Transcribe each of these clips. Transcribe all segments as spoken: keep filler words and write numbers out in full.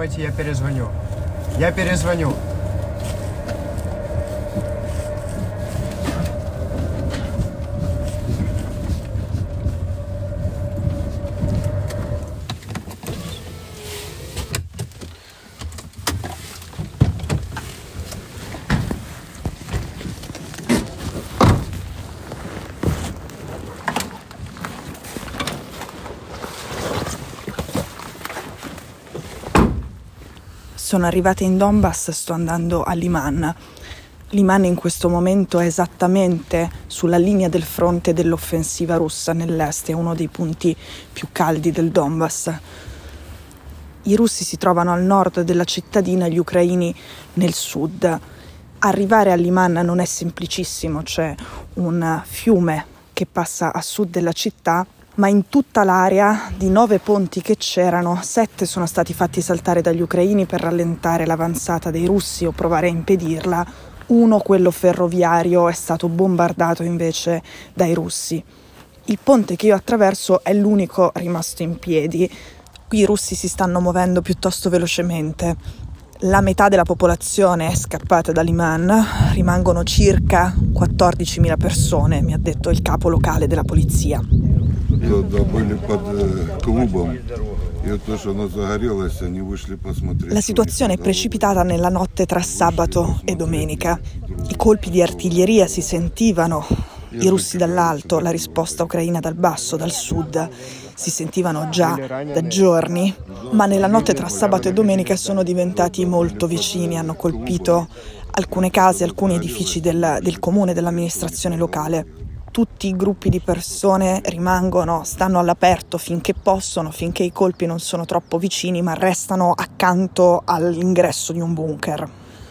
Давайте я перезвоню. Я перезвоню. Sono arrivata in Donbass, sto andando a Liman. Liman in questo momento è esattamente sulla linea del fronte dell'offensiva russa nell'est, è uno dei punti più caldi del Donbass. I russi si trovano al nord della cittadina, gli ucraini nel sud. Arrivare a Liman non è semplicissimo, c'è un fiume che passa a sud della città, ma in tutta l'area di nove ponti che c'erano, sette sono stati fatti saltare dagli ucraini per rallentare l'avanzata dei russi o provare a impedirla. Uno, quello ferroviario, è stato bombardato invece dai russi. Il ponte che io attraverso è l'unico rimasto in piedi. Qui i russi si stanno muovendo piuttosto velocemente. La metà della popolazione è scappata da Liman, rimangono circa quattordicimila persone, mi ha detto il capo locale della polizia. La situazione è precipitata nella notte tra sabato e domenica. I colpi di artiglieria si sentivano, i russi dall'alto, la risposta ucraina dal basso, dal sud, si sentivano già da giorni, ma nella notte tra sabato e domenica sono diventati molto vicini, hanno colpito alcune case, alcuni edifici del, del comune, dell'amministrazione locale. Tutti i gruppi di persone rimangono, stanno all'aperto finché possono, finché i colpi non sono troppo vicini, ma restano accanto all'ingresso di un bunker.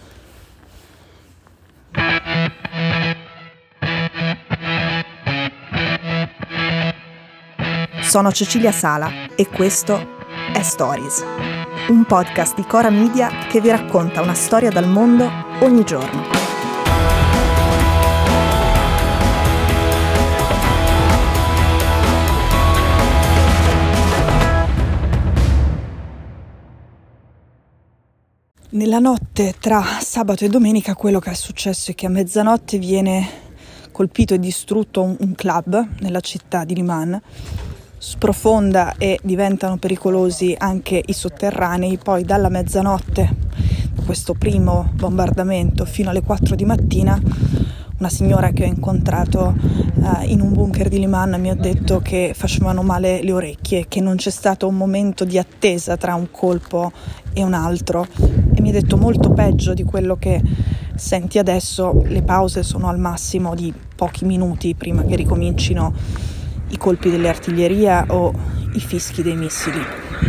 Sono Cecilia Sala e questo è Stories, un podcast di Cora Media che vi racconta una storia dal mondo ogni giorno. Nella notte tra sabato e domenica quello che è successo è che a mezzanotte viene colpito e distrutto un, un club nella città di Liman, sprofonda e diventano pericolosi anche i sotterranei. Poi dalla mezzanotte, questo primo bombardamento, fino alle quattro di mattina, una signora che ho incontrato uh, in un bunker di Liman mi ha detto che facevano male le orecchie, che non c'è stato un momento di attesa tra un colpo e un altro, e mi ha detto molto peggio di quello che senti adesso. Le pause sono al massimo di pochi minuti prima che ricomincino i colpi dell'artiglieria o i fischi dei missili.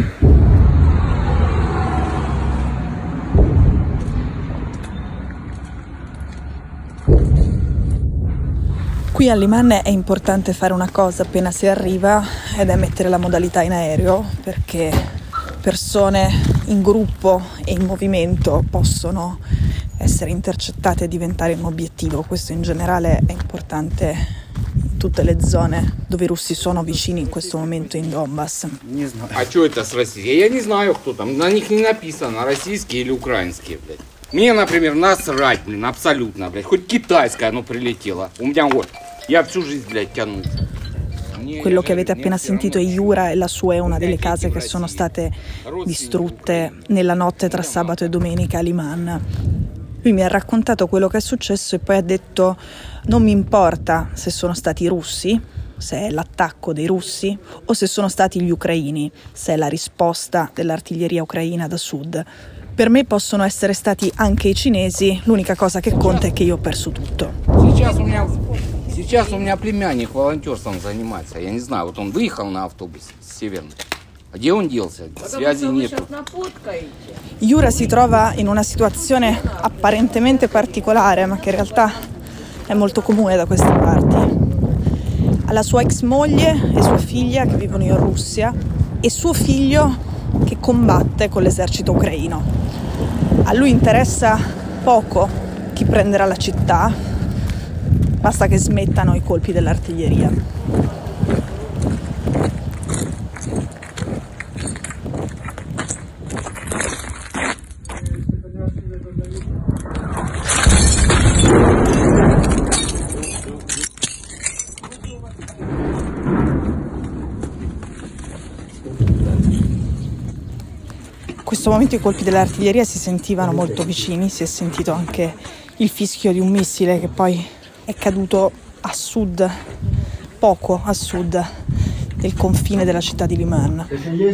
Qui a Liman è importante fare una cosa appena si arriva, ed è mettere la modalità in aereo, perché persone in gruppo e in movimento possono essere intercettate e diventare un obiettivo. Questo in generale è importante in tutte le zone dove i russi sono vicini in questo momento in Donbass. А что это с Россией? Я не знаю, кто там. На них не написано, российские или украинские, блядь. Мне, например, насрать, блин, абсолютно, блядь. Хоть китайское оно прилетело. У меня вот, я всю жизнь, блядь, тянул. Quello che avete appena sentito è Yura, e la sua è una delle case che sono state distrutte nella notte tra sabato e domenica a Liman. Lui mi ha raccontato quello che è successo e poi ha detto: non mi importa se sono stati i russi, se è l'attacco dei russi, o se sono stati gli ucraini, se è la risposta dell'artiglieria ucraina da sud. Per me possono essere stati anche i cinesi, l'unica cosa che conta è che io ho perso tutto. Сейчас у меня племянник волонтерством занимается. Я не знаю, вот он выехал на автобусе с Северной. А где он делся? Связи нету. Yura si trova in una situazione apparentemente particolare, ma che in realtà è molto comune da queste parti. Ha la sua ex moglie e sua figlia che vivono in Russia e suo figlio che combatte con l'esercito ucraino. A lui interessa poco chi prenderà la città, basta che smettano i colpi dell'artiglieria. questo momento i colpi dell'artiglieria si sentivano molto vicini, si è sentito anche il fischio di un missile che poi è caduto a sud, poco a sud del confine della città di Liman.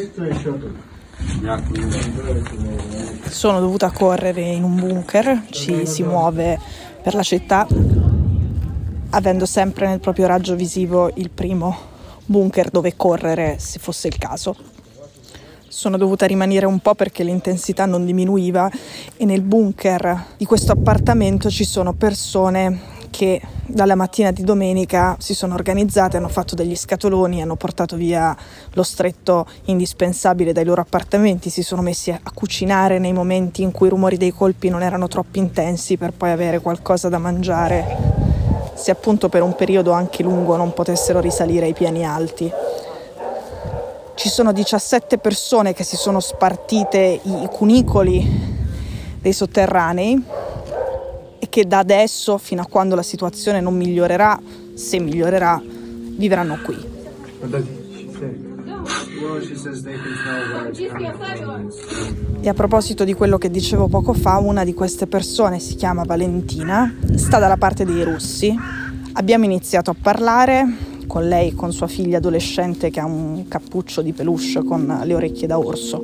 Sono dovuta correre in un bunker, ci si muove per la città, avendo sempre nel proprio raggio visivo il primo bunker dove correre se fosse il caso. Sono dovuta rimanere un po' perché l'intensità non diminuiva e nel bunker di questo appartamento ci sono persone che dalla mattina di domenica si sono organizzate, hanno fatto degli scatoloni, hanno portato via lo stretto indispensabile dai loro appartamenti, si sono messi a cucinare nei momenti in cui i rumori dei colpi non erano troppo intensi per poi avere qualcosa da mangiare, se appunto per un periodo anche lungo non potessero risalire ai piani alti. Ci sono diciassette persone che si sono spartite i cunicoli dei sotterranei e che da adesso, fino a quando la situazione non migliorerà, se migliorerà, vivranno qui. E a proposito di quello che dicevo poco fa, una di queste persone si chiama Valentina, sta dalla parte dei russi. Abbiamo iniziato a parlare con lei, con sua figlia adolescente che ha un cappuccio di peluche con le orecchie da orso.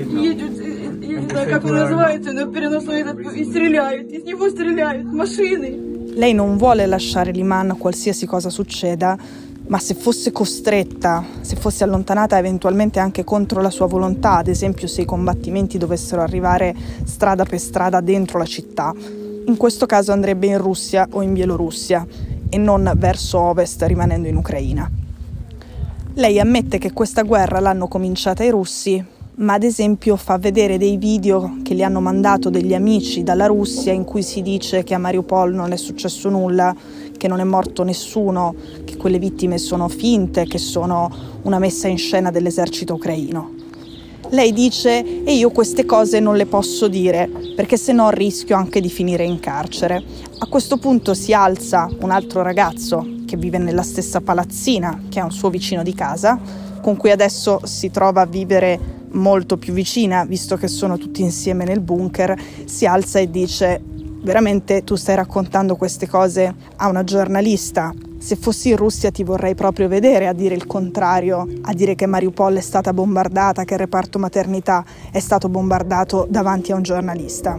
Lei non vuole lasciare Liman qualsiasi cosa succeda, ma se fosse costretta, se fosse allontanata eventualmente anche contro la sua volontà, ad esempio se i combattimenti dovessero arrivare strada per strada dentro la città, in questo caso andrebbe in Russia o in Bielorussia e non verso ovest rimanendo in Ucraina. Lei ammette che questa guerra l'hanno cominciata i russi, ma ad esempio fa vedere dei video che le hanno mandato degli amici dalla Russia in cui si dice che a Mariupol non è successo nulla, che non è morto nessuno, che quelle vittime sono finte, che sono una messa in scena dell'esercito ucraino. Lei dice: e io queste cose non le posso dire perché se no rischio anche di finire in carcere. A questo punto si alza un altro ragazzo che vive nella stessa palazzina, che è un suo vicino di casa, con cui adesso si trova a vivere molto più vicina, visto che sono tutti insieme nel bunker. Si alza e dice: veramente tu stai raccontando queste cose a una giornalista? Se fossi in Russia ti vorrei proprio vedere a dire il contrario, a dire che Mariupol è stata bombardata, che il reparto maternità è stato bombardato davanti a un giornalista.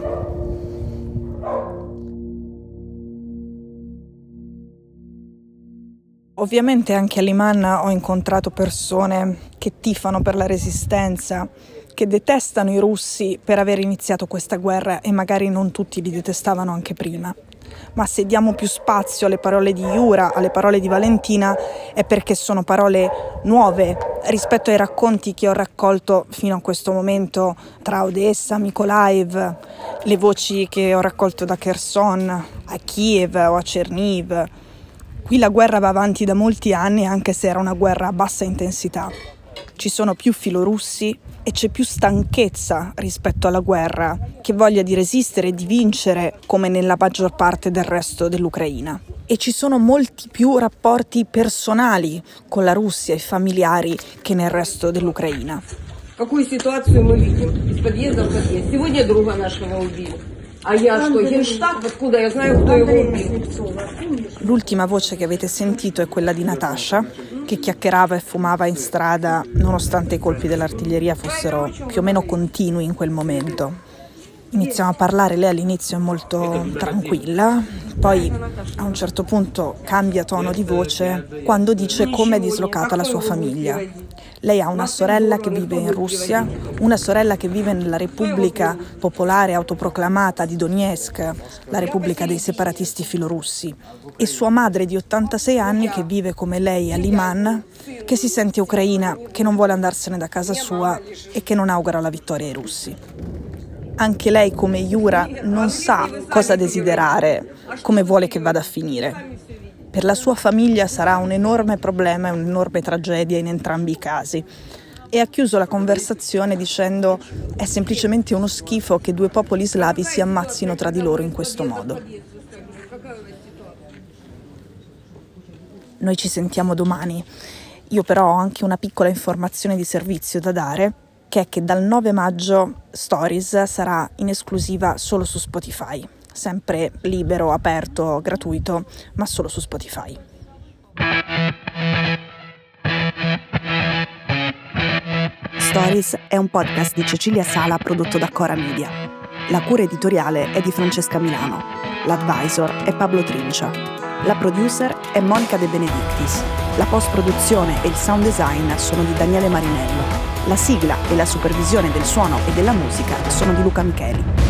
Ovviamente anche a Liman ho incontrato persone che tifano per la resistenza, che detestano i russi per aver iniziato questa guerra e magari non tutti li detestavano anche prima. Ma se diamo più spazio alle parole di Yura, alle parole di Valentina, è perché sono parole nuove rispetto ai racconti che ho raccolto fino a questo momento tra Odessa, Mykolaiv, le voci che ho raccolto da Kherson, a Kiev o a Cherniv. Qui la guerra va avanti da molti anni, anche se era una guerra a bassa intensità. Ci sono più filorussi e c'è più stanchezza rispetto alla guerra, che voglia di resistere e di vincere come nella maggior parte del resto dell'Ucraina. E ci sono molti più rapporti personali con la Russia e familiari che nel resto dell'Ucraina. Какую ситуацию мы видим? Из подъезда в подъезд. Сегодня друга нашего убили. А я что, Генштаб? Откуда я знаю, кто его убил? L'ultima voce che avete sentito è quella di Natasha, che chiacchierava e fumava in strada nonostante i colpi dell'artiglieria fossero più o meno continui in quel momento. Iniziamo a parlare, lei all'inizio è molto tranquilla, poi a un certo punto cambia tono di voce quando dice come è dislocata la sua famiglia. Lei ha una sorella che vive in Russia, una sorella che vive nella Repubblica Popolare Autoproclamata di Donetsk, la Repubblica dei separatisti filorussi, e sua madre di ottantasei anni che vive come lei a Liman, che si sente ucraina, che non vuole andarsene da casa sua e che non augura la vittoria ai russi. Anche lei, come Yura, non sa cosa desiderare, come vuole che vada a finire. Per la sua famiglia sarà un enorme problema e un'enorme tragedia in entrambi i casi. E ha chiuso la conversazione dicendo: è semplicemente uno schifo che due popoli slavi si ammazzino tra di loro in questo modo. Noi ci sentiamo domani. Io però ho anche una piccola informazione di servizio da dare. che è che dal nove maggio Stories sarà in esclusiva solo su Spotify, sempre libero, aperto, gratuito, ma solo su Spotify. Stories è un podcast di Cecilia Sala prodotto da Cora Media. La cura editoriale è di Francesca Milano. L'advisor è Pablo Trincia. La producer è Monica De Benedictis. La post-produzione e il sound design sono di Daniele Marinello. La sigla e la supervisione del suono e della musica sono di Luca Micheli.